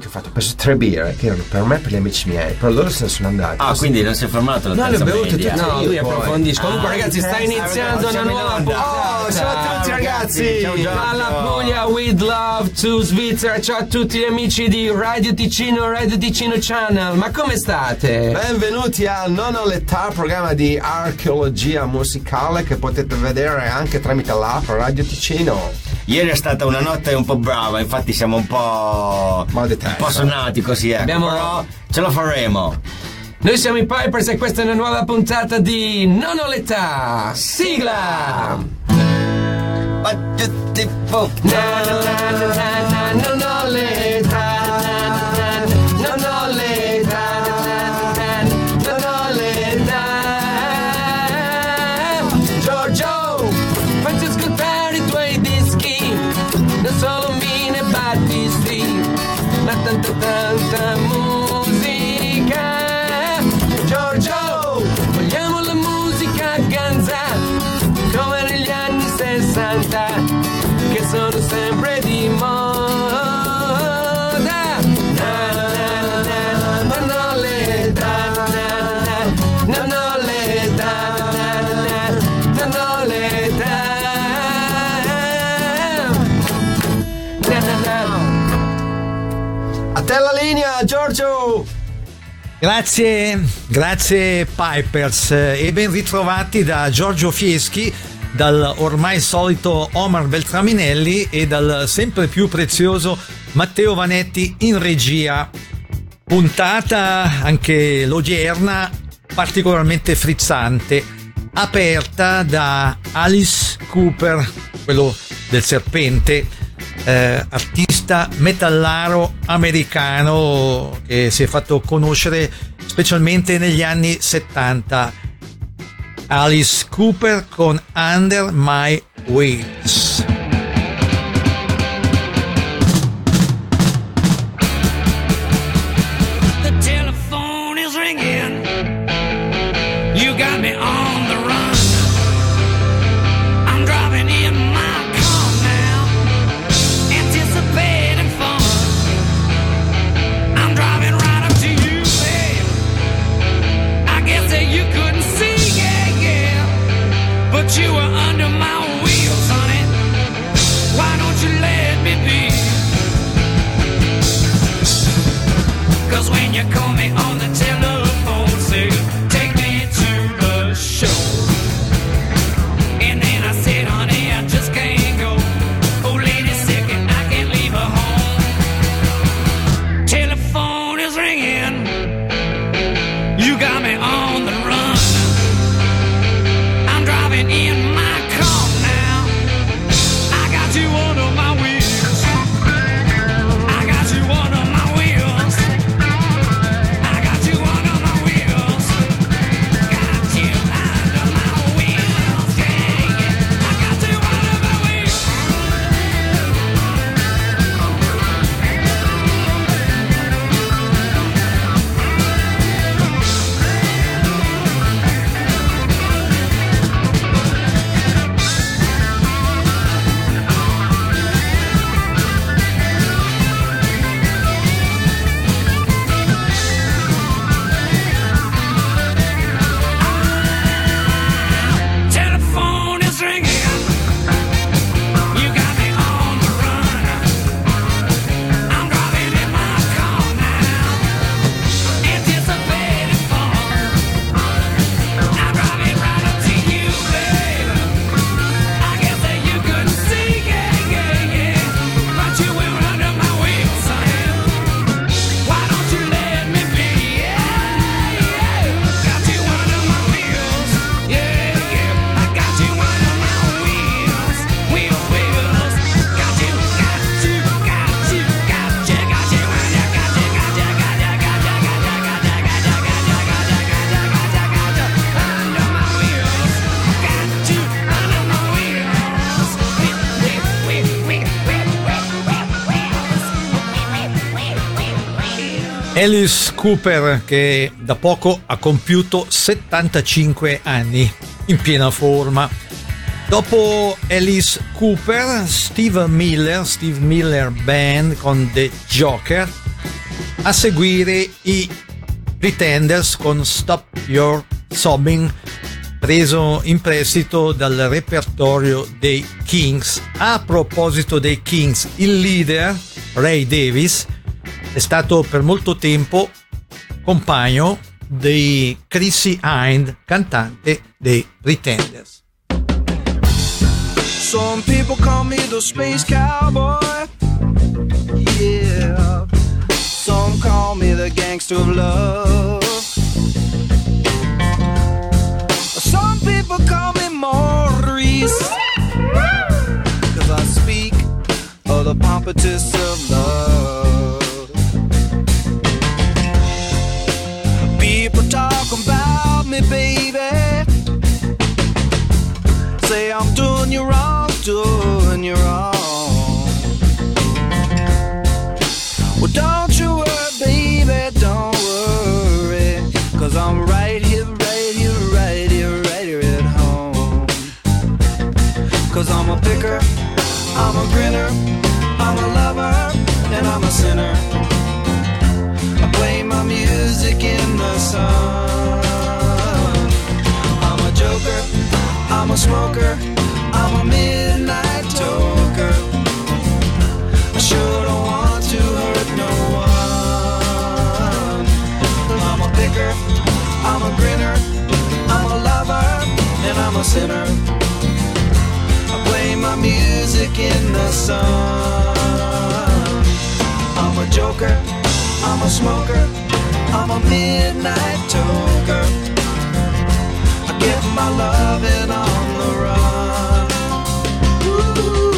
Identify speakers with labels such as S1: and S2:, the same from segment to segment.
S1: ho fatto, ho preso 3 birre che erano per me e per gli amici miei, però loro se ne sono andati.
S2: Ah, quindi non si è fermato la
S1: No,
S2: terza
S1: le ho bevute
S2: media.
S1: tutte.
S3: No, lui approfondisce. Comunque,
S1: Ah,
S3: ragazzi, sta iniziando una nuova puntata.
S1: Oh, ciao a tutti, ragazzi.
S3: Ciao, dalla Puglia with love to Svizzera. Ciao a tutti gli amici di Radio Ticino Channel. Ma come state?
S1: Benvenuti al Non ho l'età, programma di archeologia musicale che potete vedere anche tramite l'app Radio Ticino.
S2: Ieri è stata una notte un po' brava, infatti siamo un po' sonati così, ecco. Però ce la faremo.
S3: Noi siamo i Pipers e questa è una nuova puntata di Non ho l'età. Sigla!
S2: Non
S3: ho l'età. Non ho l'età. Non ho l'età. Giorgio, facci ascoltare i tuoi dischi, non solo Mine Battisti, ma tanta musica. Giorgio, vogliamo la musica ganza come negli anni 60, che sono sempre di moda. Non ho l'età, non ho l'età, non ho l'età.
S1: A te la linea, Giorgio.
S4: Grazie Pipers e ben ritrovati da Giorgio Fieschi, dal ormai solito Omar Beltraminelli e dal sempre più prezioso Matteo Vanetti in regia. Puntata anche l'odierna particolarmente frizzante, aperta da Alice Cooper, quello del serpente, artista metallaro americano che si è fatto conoscere specialmente negli anni 70. Alice Cooper con Under My Wings.
S5: The telephone is ringing. You got me on the run. I'm driving in my car now, anticipating fun. I'm driving right up to you, babe. I guess that you couldn't see, yeah, but you were under my wheels, honey. Why don't you let me be? 'Cause when you call me on the telephone, say, take me to the show. And then I said, honey, I just can't go. Oh, lady's sick and I can't leave her home. Telephone is ringing. You got me on the run. I'm driving in my car now. I got you under my wheels. I got you under my wheels. I got you under my wheels. Got you under my wheels. Yeah, yeah. I got you under my wheels. Telephone is ringing. You got me on the run. I'm driving in my car now, anticipating fun. I'm driving right up to you, babe. I guess that you couldn't see, yeah, but you were under my wheels, honey. Why don't you let me be? Yeah, got you under my wheels, yeah, I got you under my wheels, wheels, got you under, got you under my wheels, got you under my wheels,
S4: Alice Cooper, che da poco ha compiuto 75 anni, in piena forma. Dopo Alice Cooper, Steve Miller Band con The Joker, A seguire i Pretenders con Stop Your Sobbing, preso in prestito dal repertorio dei Kings. A proposito dei Kings, il leader Ray Davies è stato per molto tempo compagno di Chrissie Hynde, cantante dei Pretenders.
S6: Some people call me the space cowboy, yeah. Some call me the gangster of love. Some people call me Maurice, 'cause I speak of the pompatus of love. People talk about me, baby, say I'm doing you wrong, doing you wrong. Well, don't you worry, baby, don't worry, 'cause I'm right here, right here, right here, right here at home. 'Cause I'm a picker, I'm a grinner, I'm a lover, and I'm a sinner. I play my music in the sun. I'm a joker, I'm a smoker, I'm a midnight toker. I sure don't want to hurt no one. I'm a picker, I'm a grinner, I'm a lover, and I'm a sinner. I play my music in the sun. I'm a joker, I'm a smoker, I'm a midnight toker. I get my loving on the run. Ooh.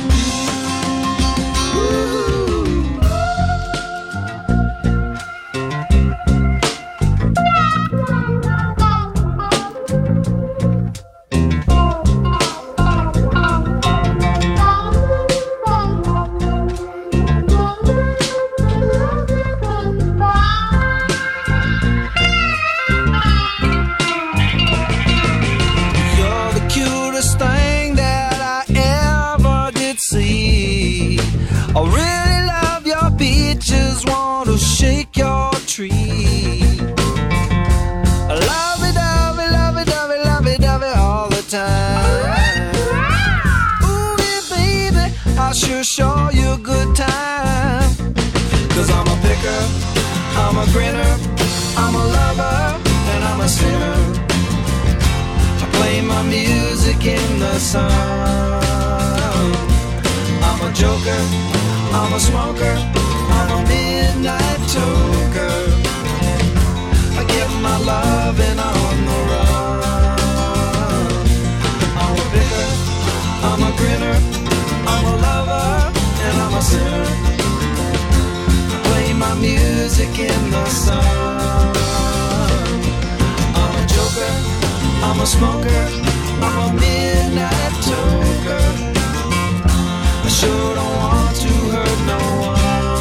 S6: I really love your beaches, want to shake your tree. I love it, love it, love it, love it, love it, love it all the time. Ooh, yeah, baby, I'll sure show you a good time. 'Cause I'm a picker, I'm a grinner, I'm a lover, and I'm a sinner. I play my music in the sun. I'm a joker, I'm a smoker, I'm a midnight toker. I get my loving on the run. I'm a picker, I'm a grinner, I'm a lover, and I'm a sinner. I play my music in the sun. I'm a joker, I'm a smoker, I'm a midnight toker. I sure don't want to hurt no one.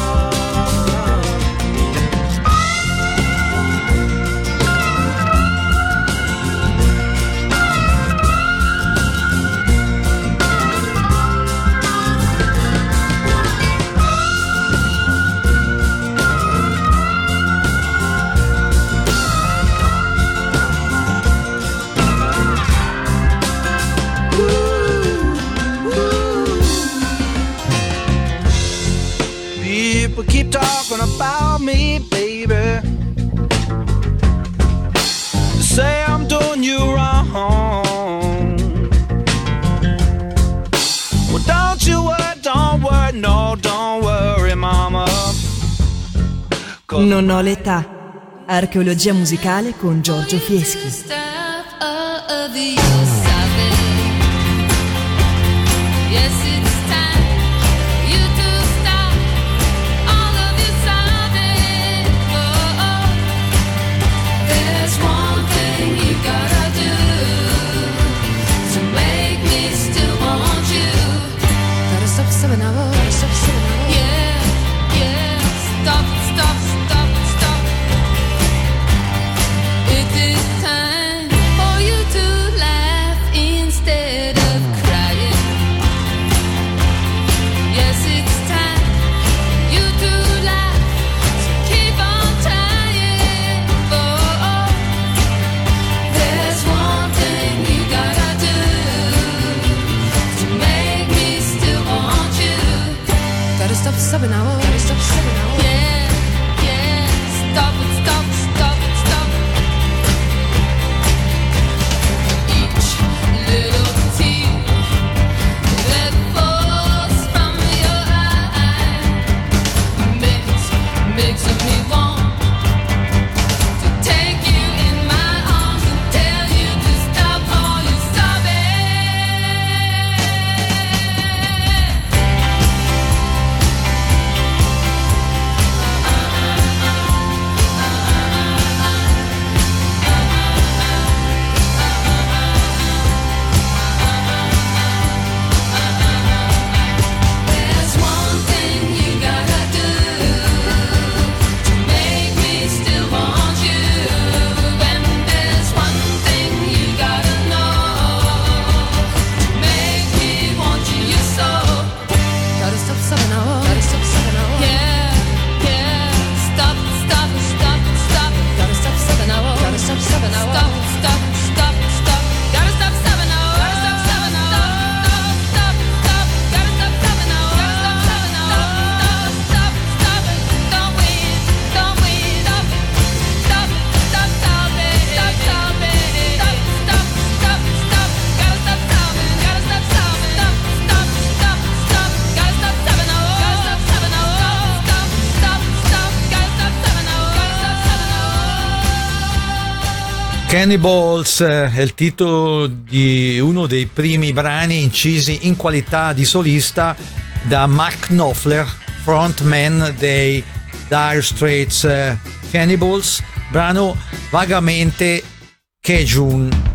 S6: People keep talking about me, baby. Say I'm doing you wrong. Well, don't you worry, no, don't worry, mama.
S7: Non ho l'età. Archeologia musicale con Giorgio Fieschi.
S4: Cannibals è il titolo di uno dei primi brani incisi in qualità di solista da Mark Knopfler, frontman dei Dire Straits. Cannibals, brano vagamente Cajun.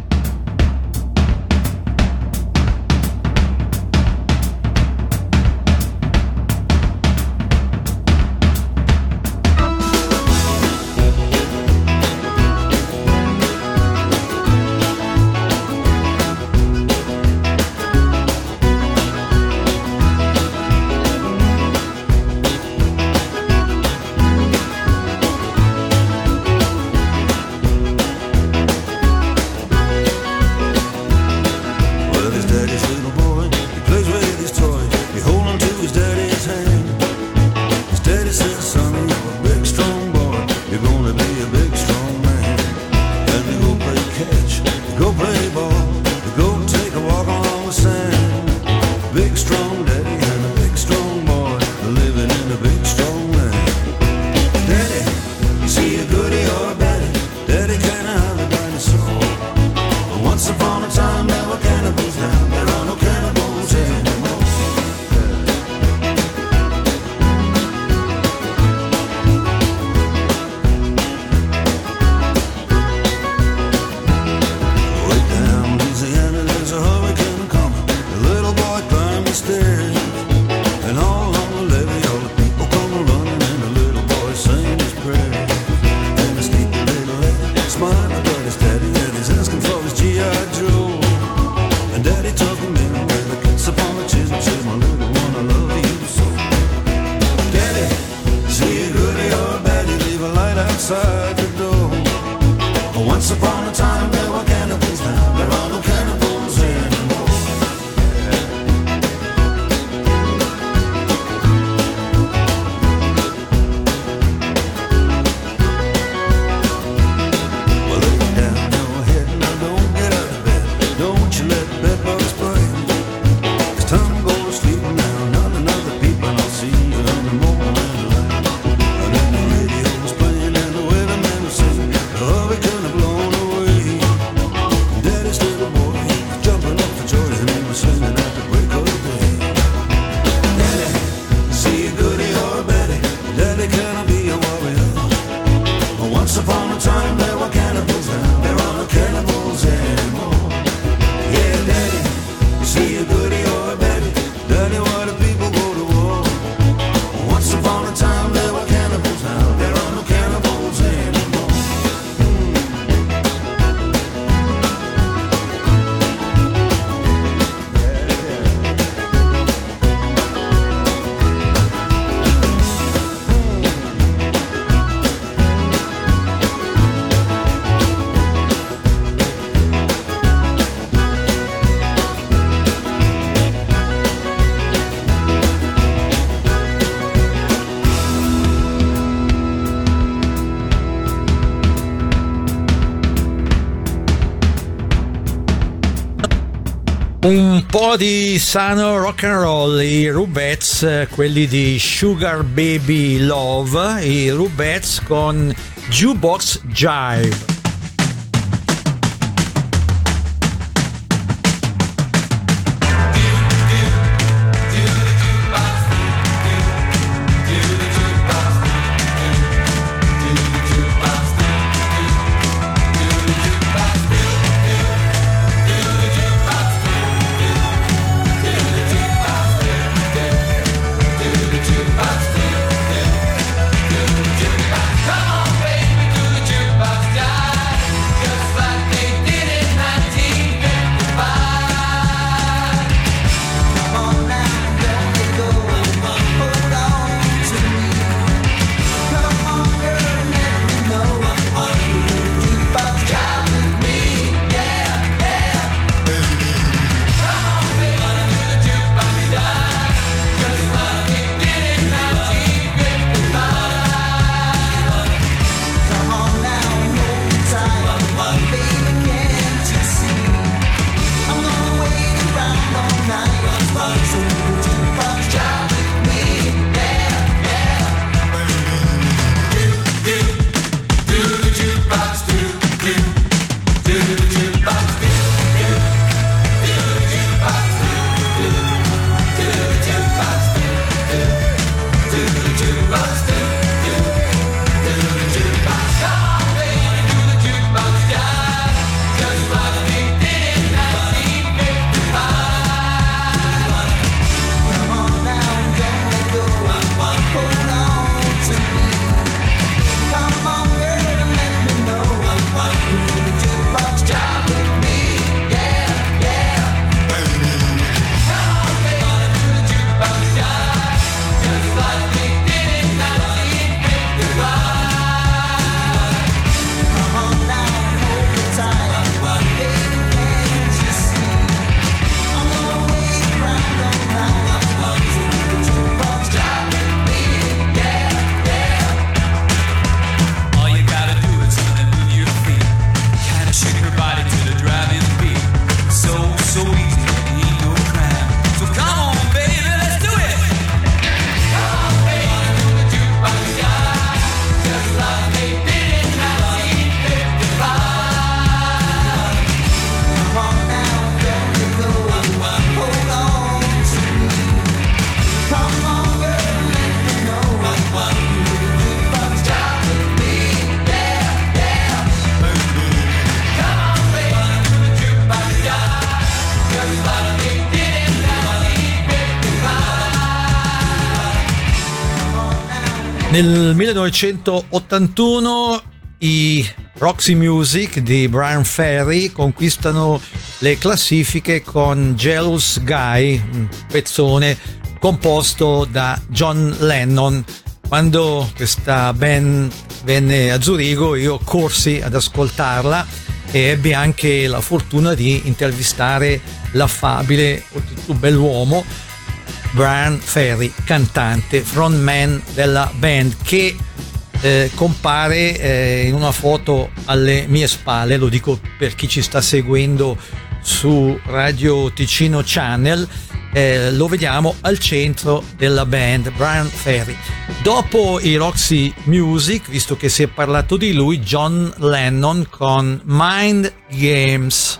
S4: Un po' di sano rock and roll, i Rubettes, quelli di Sugar Baby Love, i Rubettes con Jukebox Jive.
S3: Come on, baby, do the jukebox jive.
S4: Nel 1981 i Roxy Music di Bryan Ferry conquistano le classifiche con Jealous Guy, un pezzone composto da John Lennon. Quando questa band venne a Zurigo io corsi ad ascoltarla e ebbi anche la fortuna di intervistare l'affabile, oltretutto bell'uomo, Bryan Ferry, cantante, frontman della band, che compare in una foto alle mie spalle. Lo dico per chi ci sta seguendo su Radio Ticino Channel. Lo vediamo al centro della band, Bryan Ferry. Dopo i Roxy Music, visto che si è parlato di lui, John Lennon con Mind Games.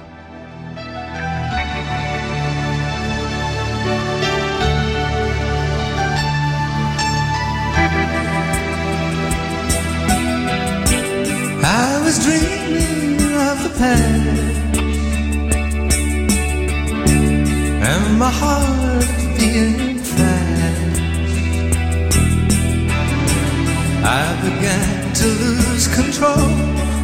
S6: I was dreaming of the past and my heart beating fast. I began to lose control.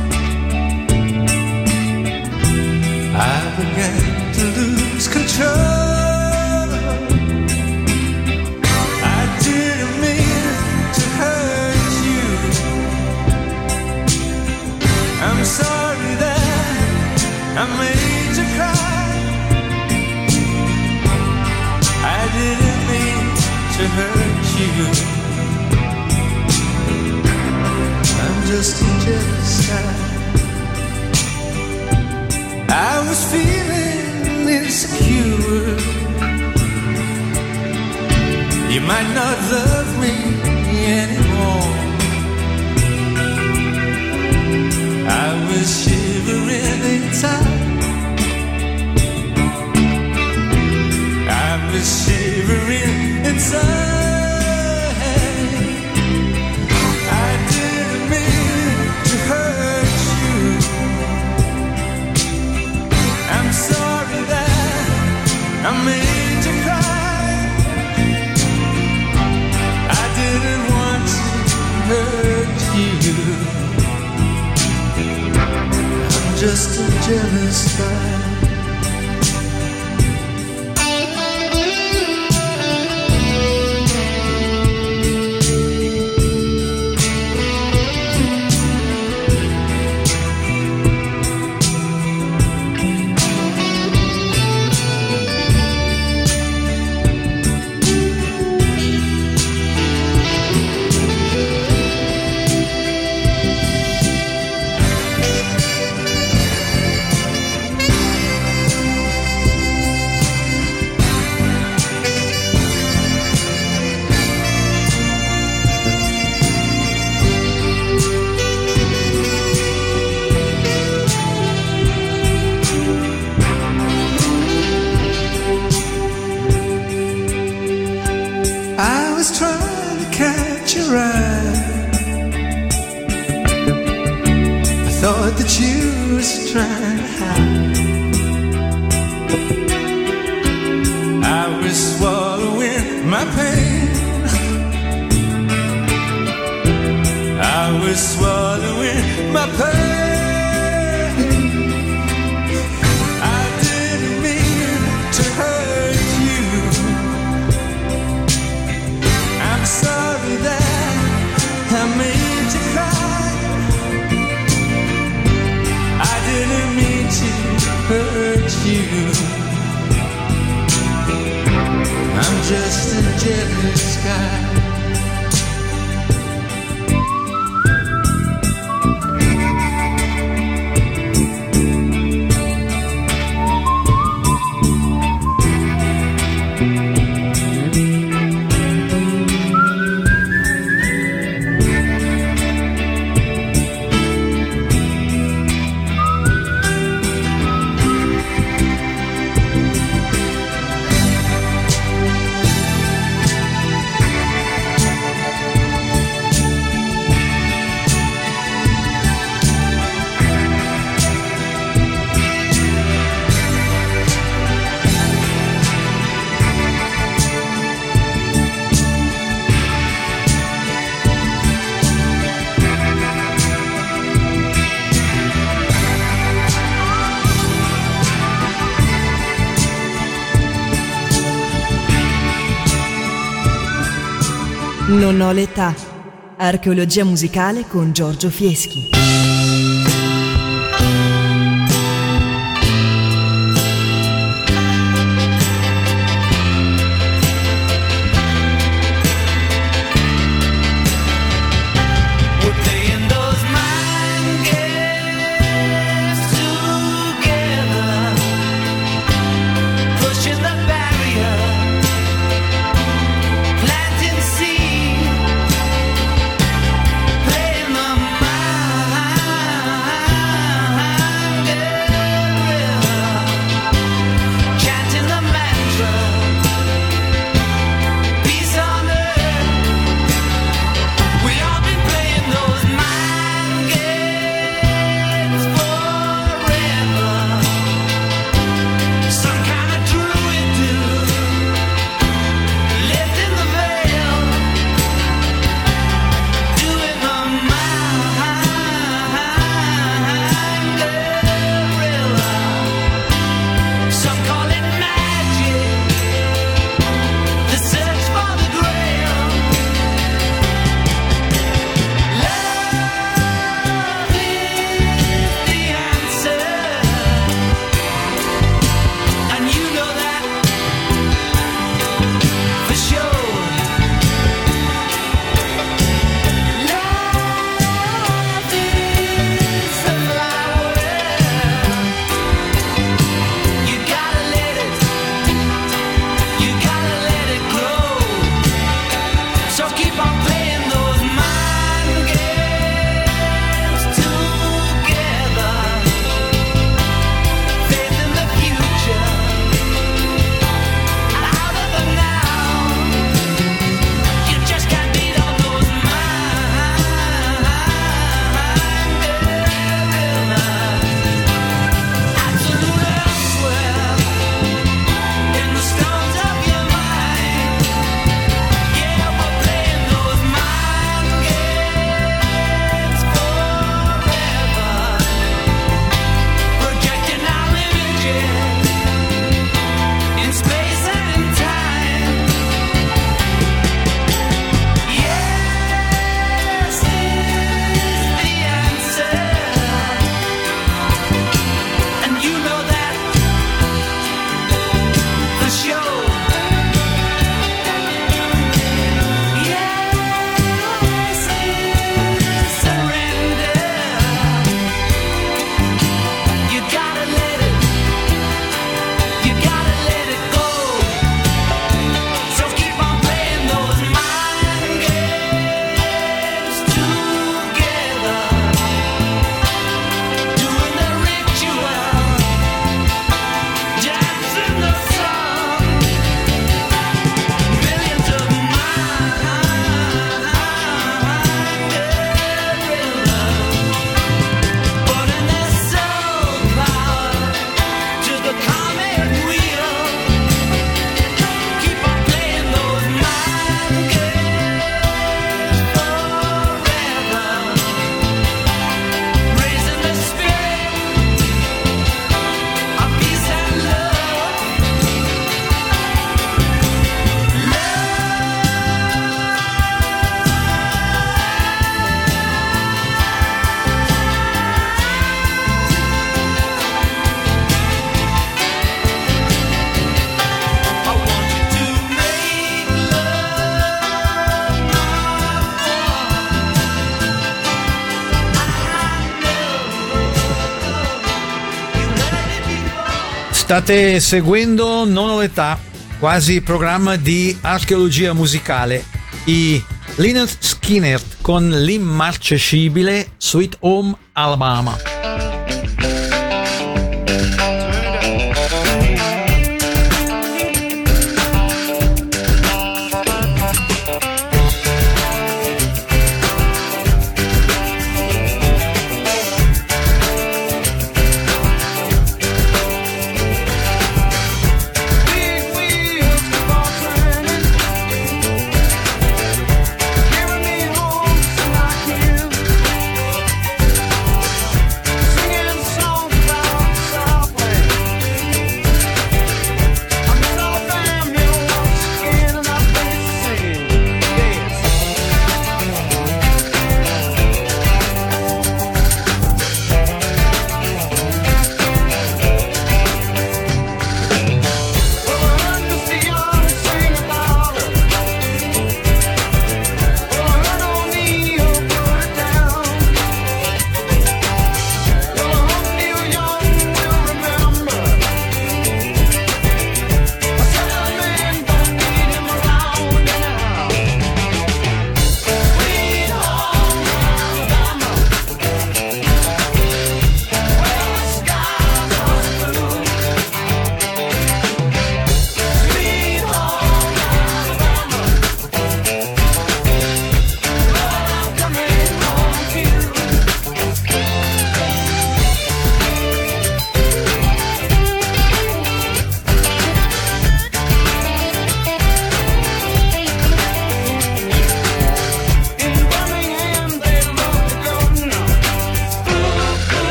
S6: I began to lose control. I didn't mean to hurt you. I'm sorry that I made you cry. I didn't mean to hurt you. I'm just a jealous guy. I was feeling insecure. You might not love me anymore. I was shivering inside. I was shivering inside. I didn't mean to hurt you. I'm sorry that I made you cry. I didn't want to hurt you. Just a jealous guy. I was trying to catch your eye. I thought that you was trying to hide. I was swallowing my pain. I was swallowing my pain. I didn't mean to hurt you. I'm sorry that I made you cry. I didn't mean to hurt you. I'm just a jealous guy.
S7: Non ho l'età. Archeologia musicale con Giorgio Fieschi.
S4: State seguendo Non ho l'età, quasi programma di archeologia musicale. I Lynyrd Skynyrd con l'immarcescibile Sweet Home Alabama.
S5: Singing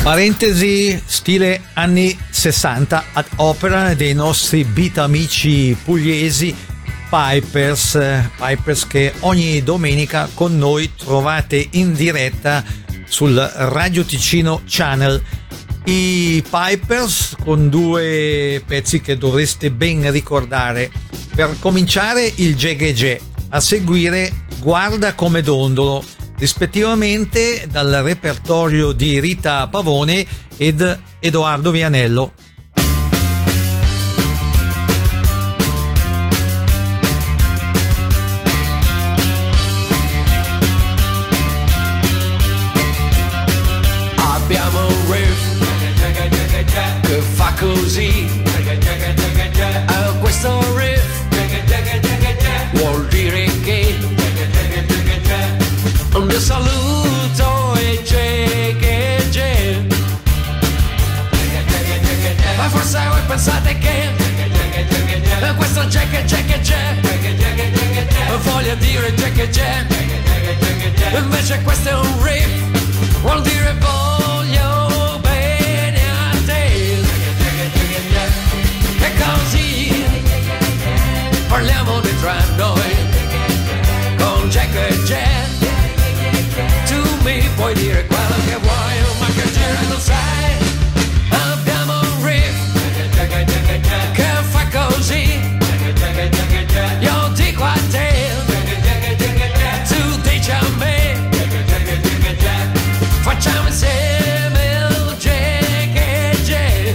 S4: Parentesi stile anni 60 ad opera dei nostri beat amici pugliesi Pipers che ogni domenica con noi trovate in diretta sul Radio Ticino Channel. I Pipers con due pezzi che dovreste ben ricordare. Per cominciare il Gegege, a seguire Guarda come dondolo, rispettivamente dal repertorio di Rita Pavone ed Edoardo Vianello.
S3: Abbiamo un riff che fa così, questo riff vuol dire che un saluto e c'è, ma forse voi pensate che questo c'è voglia dire c'è, invece questo è un riff, vuol dire voglio bene a te, e così parliamo di tra noi con c'è. Tu mi puoi dire quello che vuoi, ma che giro non sai. Abbiamo un riff che fa così, io dico a te, tu dici a me, facciamo insieme il Gegege.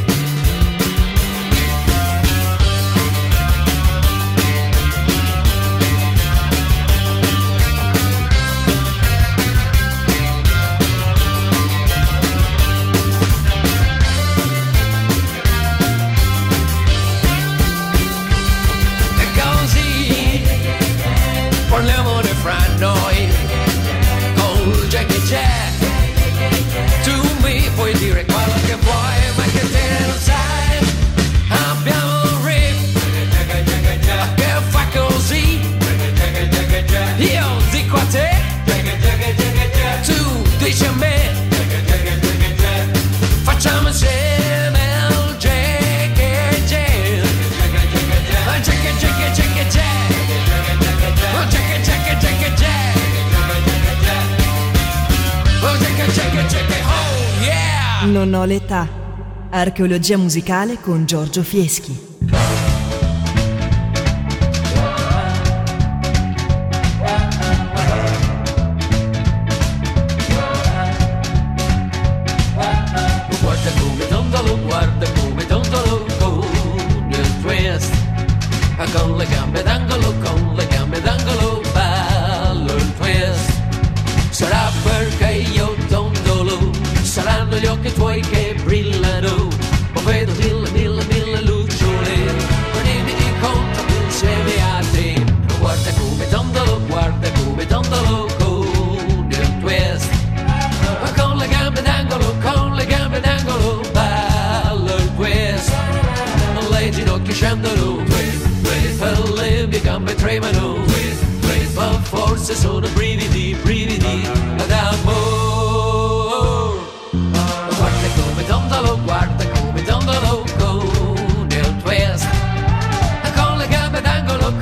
S3: Parliamo di fra noi con c'è. Tu mi puoi dire quello che vuoi, ma che te non sai. Abbiamo un riff che fa così, io dico a te, tu dici a me, facciamo insieme il Gegege.
S7: Non ho l'età. Archeologia musicale con Giorgio Fieschi.
S3: Guarda come dondolo con il twist, con le gambe d'angolo, ballo il twist. Sarà perché io dondolo, saranno gli occhi tuoi che brillano, ma vedo mille lucciole, venimi incontro insieme a te. Guarda come dondolo con il twist, con le gambe d'angolo, ballo il twist. Le ginocchia scendono, per le mie gambe tremano, ma forse sono brividi d'amore. Guarda come dondolo con il twist, con le gambe d'angolo,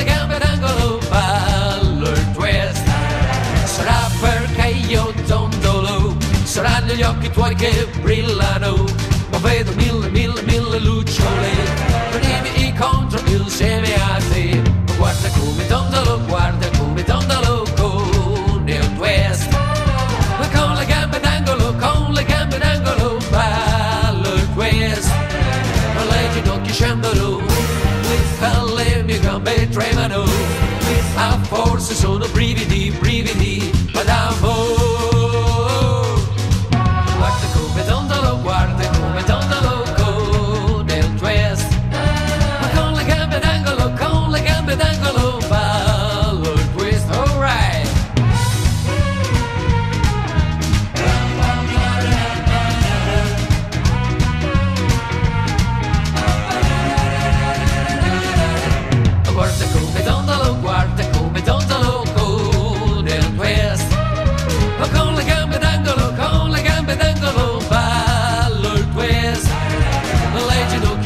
S3: ballo il twist. Sarà perché io dondolo, saranno gli occhi tuoi che brillano, ma vedo mille lucciole, venimi incontro insieme a te. Guarda come dondolo con il twist, con le gambe d'angolo, ballo il twist. Le ginocchia scendono, le mie gambe tremano, ma forse sono brividi d'amore. Guarda come dondolo con il twist, con le gambe d'angolo, ballo il twist, alright. Guarda come dondolo con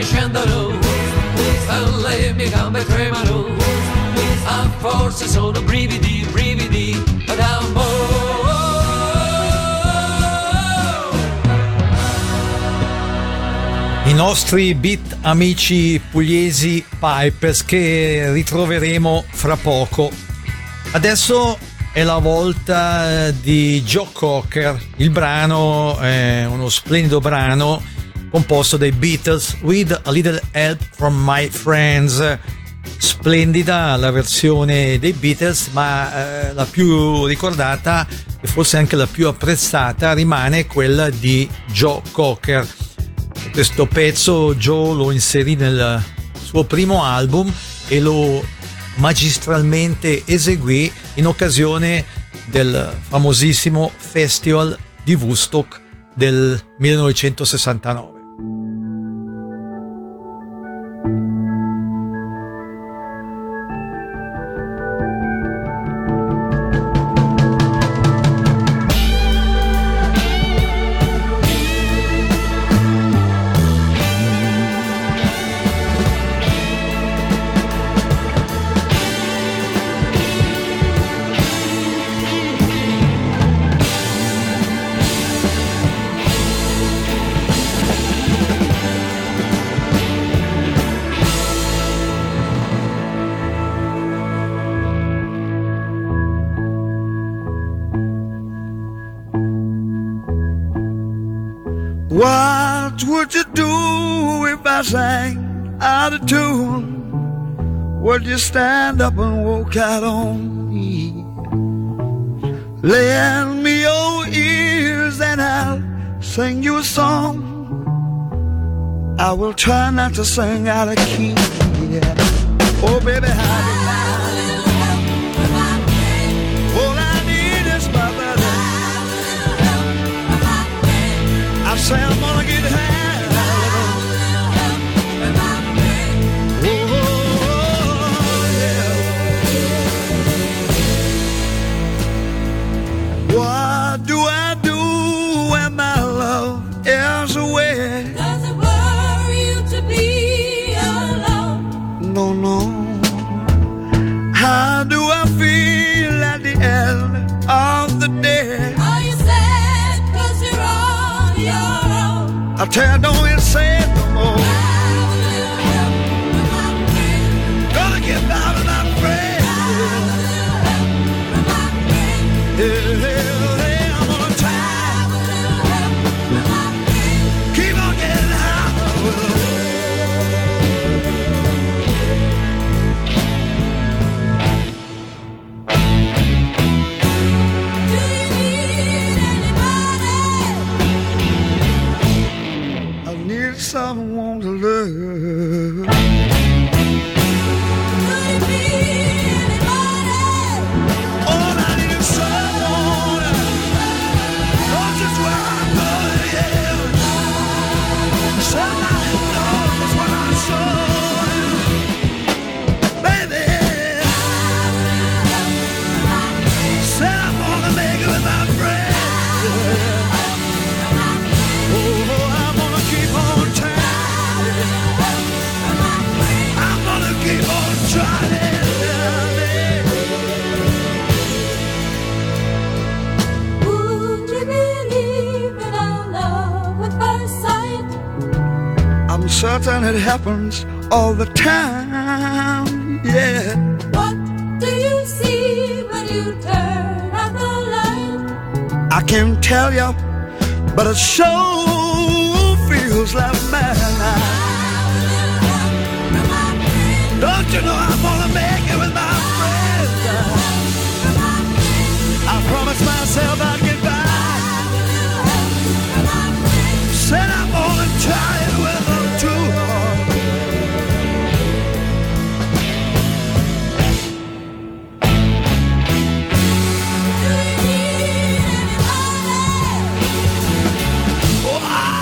S3: scendono, le mie gambe tremano, forse sono brividi, brividi d'amore.
S4: I nostri beat amici pugliesi Pipers che ritroveremo fra poco. Adesso è la volta di Joe Cocker. Il brano è uno splendido brano composto dai Beatles, With a Little Help from My Friends. Splendida la versione dei Beatles, ma la più ricordata e forse anche la più apprezzata rimane quella di Joe Cocker. Questo pezzo Joe lo inserì nel suo primo album e lo magistralmente eseguì in occasione del famosissimo Festival di Woodstock del 1969.
S8: What would you do if I sang out of tune? Would you stand up and walk out on me? Lend me your ears and I'll sing you a song. I will try not to sing out of key. Yeah. Oh baby, how all I need is my brother. I say I'm gonna get high. Oh, yeah. What do I do when my love is away?
S5: Does it worry you to be alone?
S8: No, no. How do I feel at the end of the day?
S5: Are you sad 'cause you're on your own?
S8: I tell you, don't even say it no more. Gonna get out of my friend. Hey, I'm gonna try. Keep on getting high.
S5: Do you need anybody?
S8: I need someone to love.
S5: Could it be anybody?
S8: All I need is someone. Knows just where I'm going, yeah. Somebody knows what I'm showing. Baby, said I'm gonna make it with my friends. Oh, I'm gonna keep on trying. I'm gonna keep on trying.
S5: Would you believe in our love at first sight?
S8: I'm certain it happens all the time, yeah.
S5: What do you see when you turn out the light?
S8: I can't tell you, but it sure feels like madness. Don't you know I'm gonna make it with my friends? I promised myself I'd get by. Said I'm gonna try it with them too.
S5: Do you need anybody?
S8: Oh,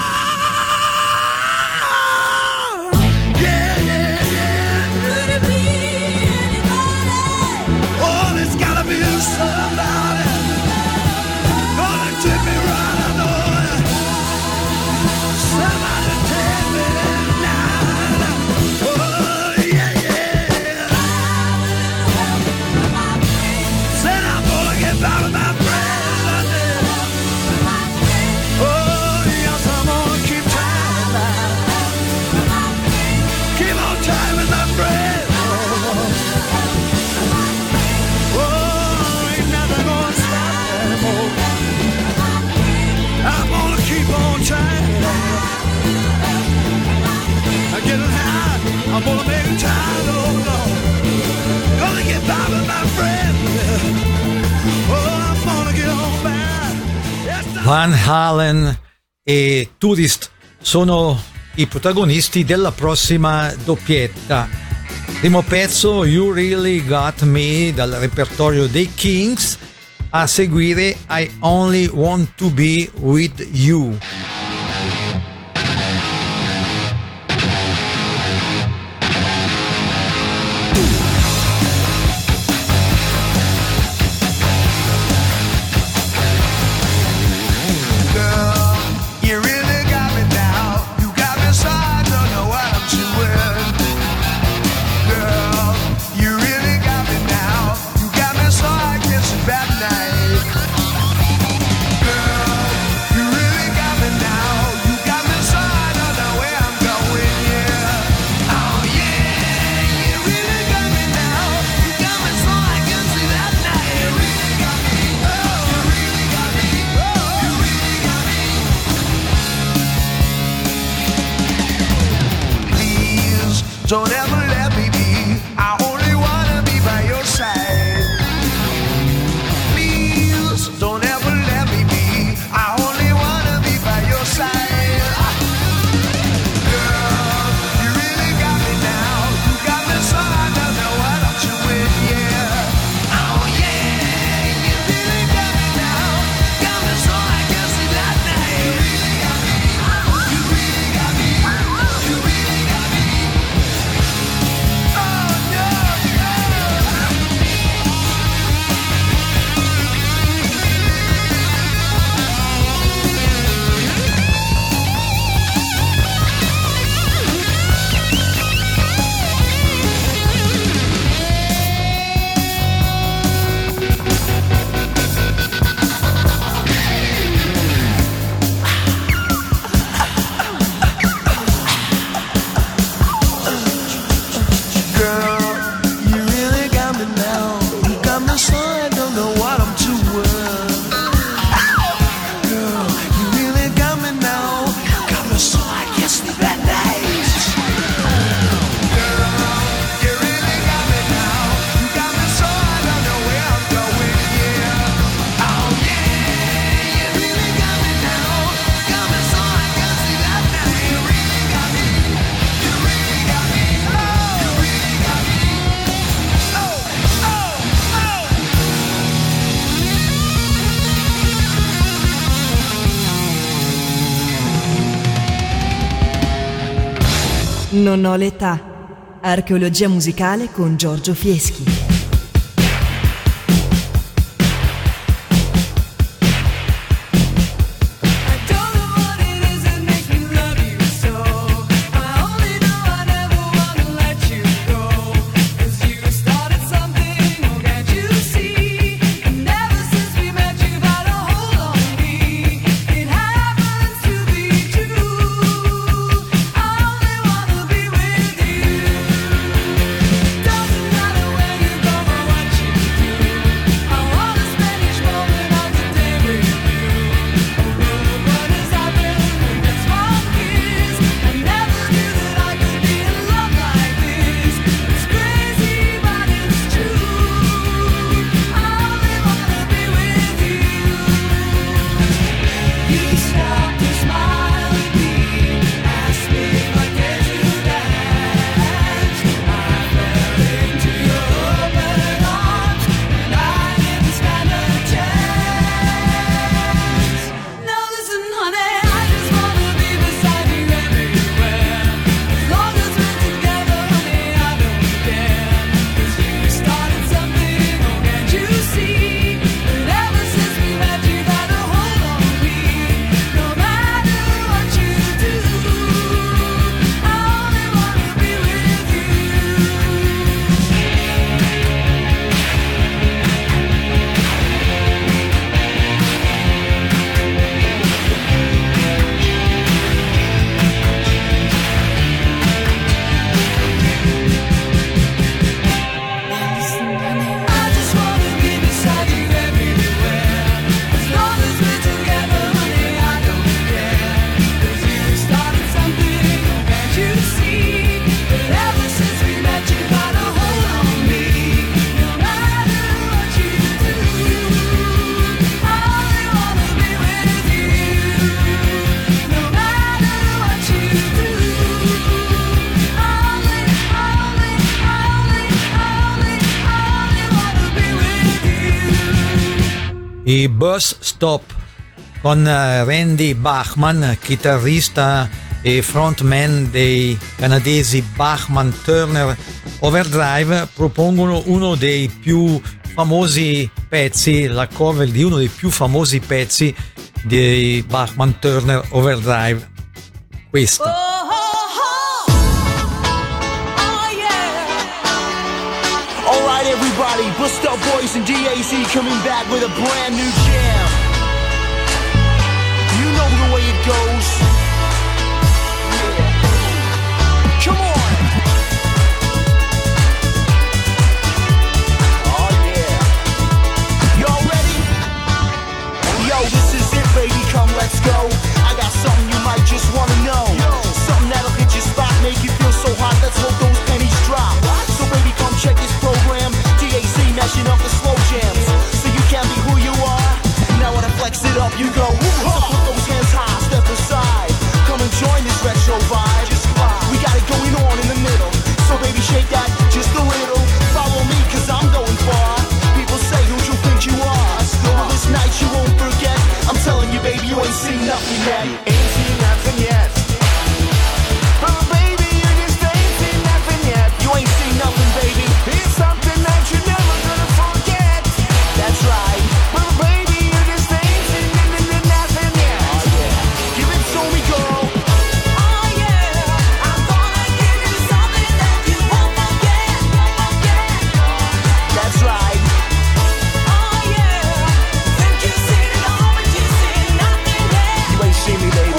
S8: yeah, yeah, yeah.
S5: Could it be anybody?
S8: Oh, there's gotta be somebody. I'm gonna make time, oh Lord. Gonna get by with my friend. Oh, I'm gonna get on back. Yes,
S4: Van Halen e Tourist sono i protagonisti della prossima doppietta. Primo pezzo, You Really Got Me, dal repertorio dei Kings. A seguire I Only Want to Be With You.
S8: Don't ever let me be. I only wanna be by your side. Please, don't ever let me be. I only wanna be by your side. Girl, you really got me now. You got me so I don't know what I'm doing, yeah. Oh yeah, you really got me now. Got me so I can see that night. You really got me. You really got me.
S7: Non ho l'età. Archeologia musicale con Giorgio Fieschi.
S5: Doesn't matter where you go.
S4: i Bus Stop con Randy Bachman, chitarrista e frontman dei canadesi Bachman Turner Overdrive, propongono uno dei più famosi pezzi, la cover di uno dei più famosi pezzi dei Bachman Turner Overdrive, questa.
S9: Alright everybody, Bust Up Boys and DAZ coming back with a brand new jam. You know the way it goes. Yeah. Come on. Oh yeah. Y'all ready? Yo, this is it baby, come let's go. I got something you might just wanna know. Something that'll hit your spot, make you feel so hot, let's hope those pennies drop. So baby come check this program, DAZ mashing up the slow jams. So you can be who you are. Now when I flex it up, you go. So put those hands high, step aside. Come and join this retro vibe. We got it going on in the middle. So baby shake that just a little. Follow me cause I'm going far. People say who you think you are. Well this night you won't forget. I'm telling you baby you ain't seen nothing yet. Ain't seen nothing yet. Oh baby you just ain't seen nothing yet. You ain't seen nothing baby. It's something that you're never gonna forget. That's right. Well baby you just ain't seen nothing yet. Oh yeah. Give it to me girl. Oh yeah. I'm gonna give you something that you won't forget. That's right. Oh yeah. Think you seen it all but you seen nothing yet. You ain't seen me baby.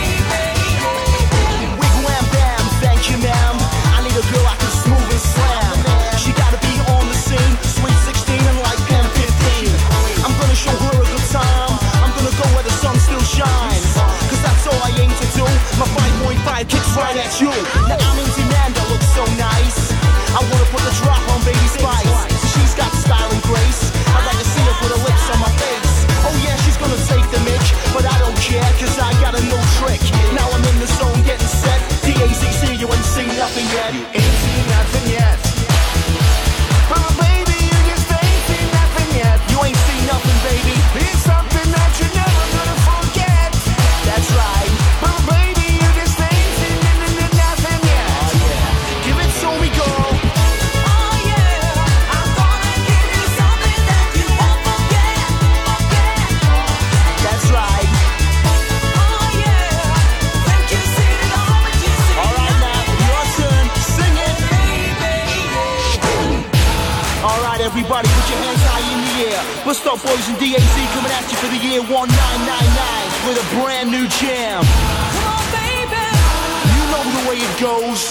S9: Wigwam bam, thank you ma'am. I need a girl I can smooth and slam. She gotta be on the scene, sweet 16 and like pen 15. I'm gonna show her a good time. I'm gonna go where the sun still shines. Cause that's all I aim to do. My 5.5 kicks right at you. Now I'm in demand, that looks so nice. I wanna put the drop on Baby Spice. She's got style and grace. I'd like to see her put her lips on my face. Oh yeah, she's gonna take the mic, but I don't care cause I got a new trick. Now I'm in the zone getting set. DAZC, you ain't seen nothing yet. You ain't seen nothing yet. Oh baby, you just ain't seen nothing yet. You ain't seen nothing baby. It's something that you're never gonna forget. That's right. Oh baby, you just ain't seen nothing yet. Oh yeah. Give it to me girl. Oh yeah. I'm gonna give you something that you won't forget. That's right. Oh yeah. Think you seen it all but you seen all right now, your turn. Sing it. All right, everybody, put your hands high in the air. Bust Up Boys and DAZ coming at you for the year 1999 with a brand new jam. Come on, baby. You know the way it goes.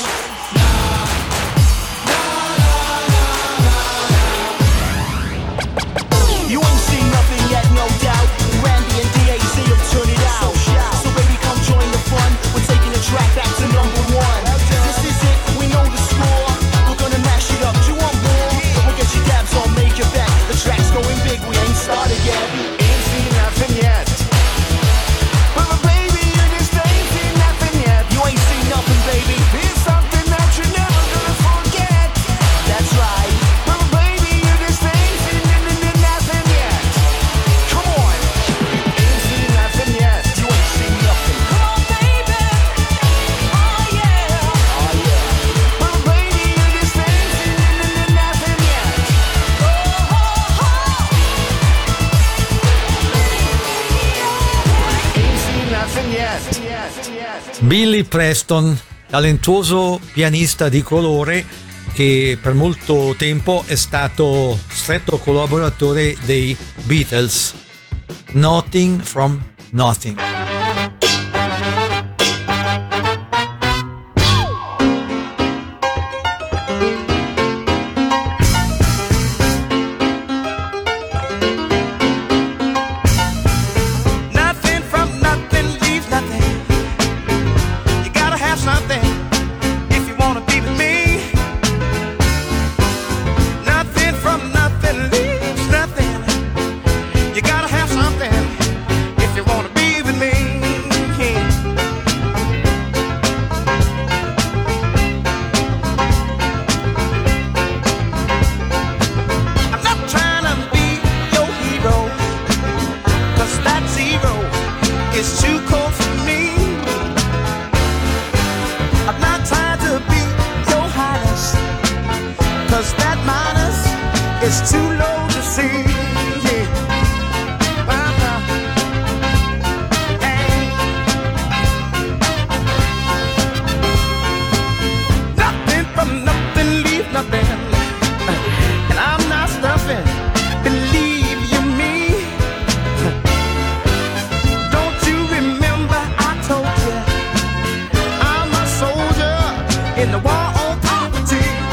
S9: You ain't seen nothing yet, no doubt. Randy and DAZ have turned it out. So baby, come join the fun. We're taking the track back to number one. This is it, we know the score. We're gonna mash it up. Do you want more? We'll get your dabs on, make it back. The track's going big, we ain't started yet. Ain't seen nothing yet. But baby, you just ain't seen nothing yet. You ain't seen nothing, baby. It's something that you're never gonna forget. That's right. But baby, you just ain't seen nothing yet. Come on. Ain't seen nothing yet. You ain't seen nothing. Come on, baby. Oh yeah. Oh yeah. But baby, you just ain't seen nothing yet. Oh, oh, oh. Ain't seen nothing yet.
S4: Billy Preston, talentuoso pianista di colore che per molto tempo è stato stretto collaboratore dei Beatles. Nothing from Nothing.
S9: Nothing from nothing leaves nothing. You gotta have something if you wanna be with me. Nothing from nothing leaves nothing. You gotta have something if you wanna be with me. is too low to see. Nothing from nothing, leave nothing. And I'm not stuffing, believe you me. Don't you remember I told you I'm a soldier in the war on poverty.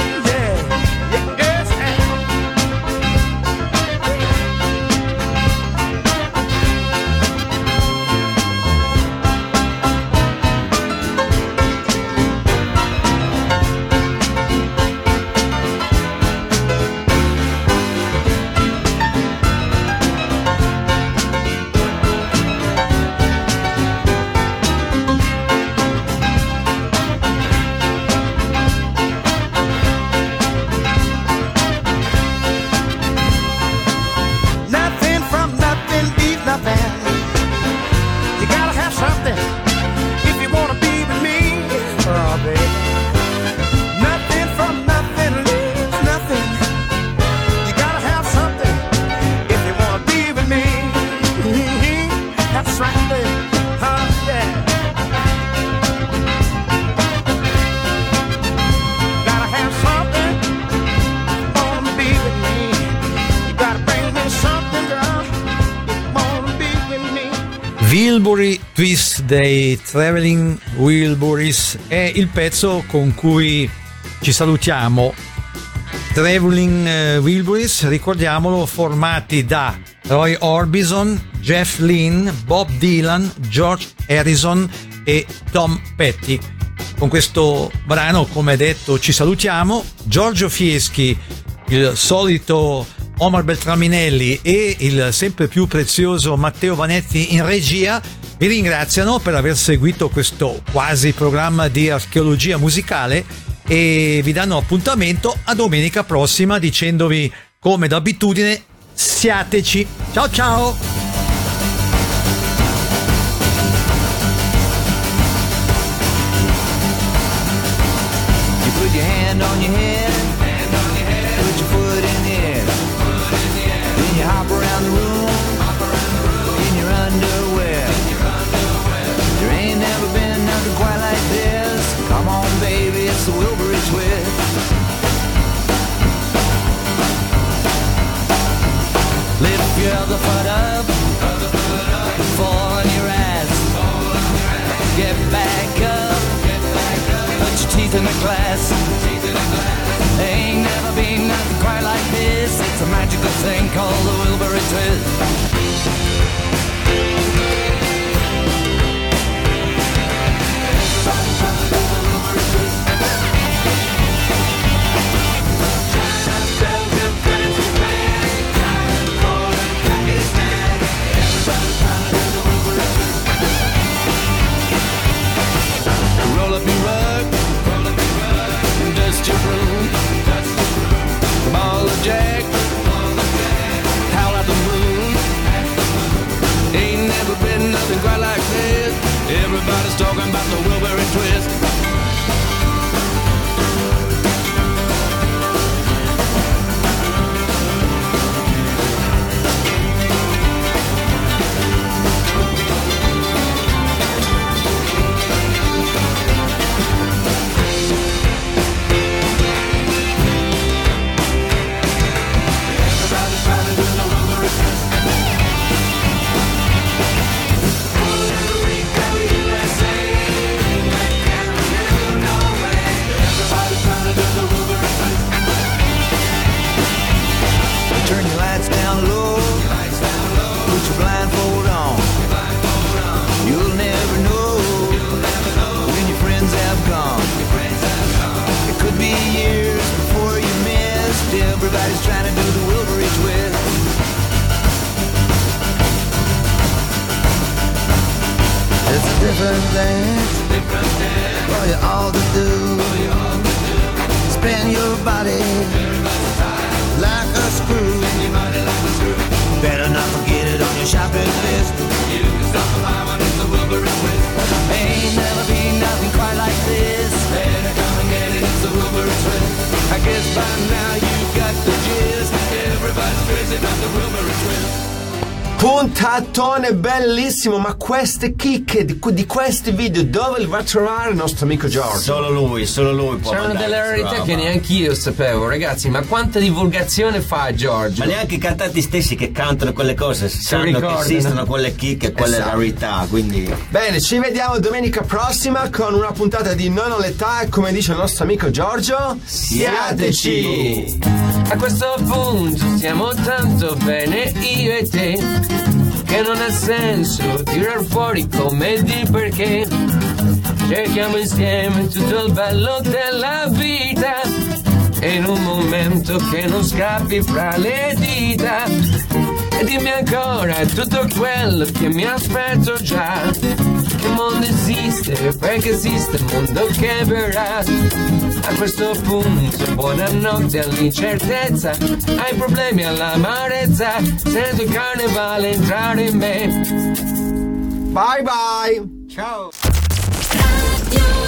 S4: Wilbury Twist dei Traveling Wilburys è il pezzo con cui ci salutiamo. Traveling Wilburys, ricordiamolo, formati da Roy Orbison, Jeff Lynne, Bob Dylan, George Harrison e Tom Petty. Con questo brano, come detto, ci salutiamo. Giorgio Fieschi, il solito Omar Beltraminelli e il sempre più prezioso Matteo Vanetti in regia vi ringraziano per aver seguito questo quasi programma di archeologia musicale e vi danno appuntamento a domenica prossima dicendovi, come d'abitudine, siateci. Ciao ciao!
S6: You put your hand on your head, put your foot in the air, then you hop around the room, in your underwear. There ain't never been nothing quite like this. Come on, baby, it's the Wilbury Twist. Lift your other foot up, fall on your ass, get back up, put your teeth in the glass. Ain't never been nothing quite like this. It's a magical thing called the Wilbury Twist. Roll up your rug, dust your broom, ball of jack, howl at the moon. Ain't never been nothing quite like this. Everybody's talking about the Wilbury Twist. Turn your lights down low, put your blindfold on. You'll never know when your friends have gone. It could be years before you missed. Everybody's trying to do the Wilbury Twist. It's a different dance for you all to do. Spin your body like a screw. Better not forget it on your shopping list. You can stop by when it's the Wilbury Twist. Ain't never been nothing quite like this. Better come and get it, it's the Wilbury Twist. I guess by now you've got the gist.
S1: puntatone bellissimo, ma queste chicche di questi video dove li va a trovare il nostro amico Giorgio?
S2: Solo lui può
S10: C'erano
S2: mandare
S10: delle
S2: questa
S10: rarità
S2: roba.
S10: che neanche io sapevo, ragazzi, ma quanta divulgazione fa Giorgio?
S2: Ma neanche i cantanti stessi che cantano quelle cose sanno
S10: ricordano.
S2: che esistono quelle chicche e quelle
S1: Esatto.
S2: rarità, quindi
S1: Bene, ci vediamo domenica prossima con una puntata di Non ho l'età e come dice il nostro amico Giorgio, siateci!
S10: A questo punto stiamo tanto bene io e te che non ha senso tirar fuori come di perché cerchiamo insieme tutto il bello della vita e in un momento che non scappi fra le dita e dimmi ancora tutto quello che mi aspetto già. Che mondo esiste, perché esiste il mondo che verrà. A questo punto buonanotte all'incertezza, ai problemi all'amarezza, sento il carnevale entrare in me.
S1: Bye bye!
S2: ciao!
S5: Radio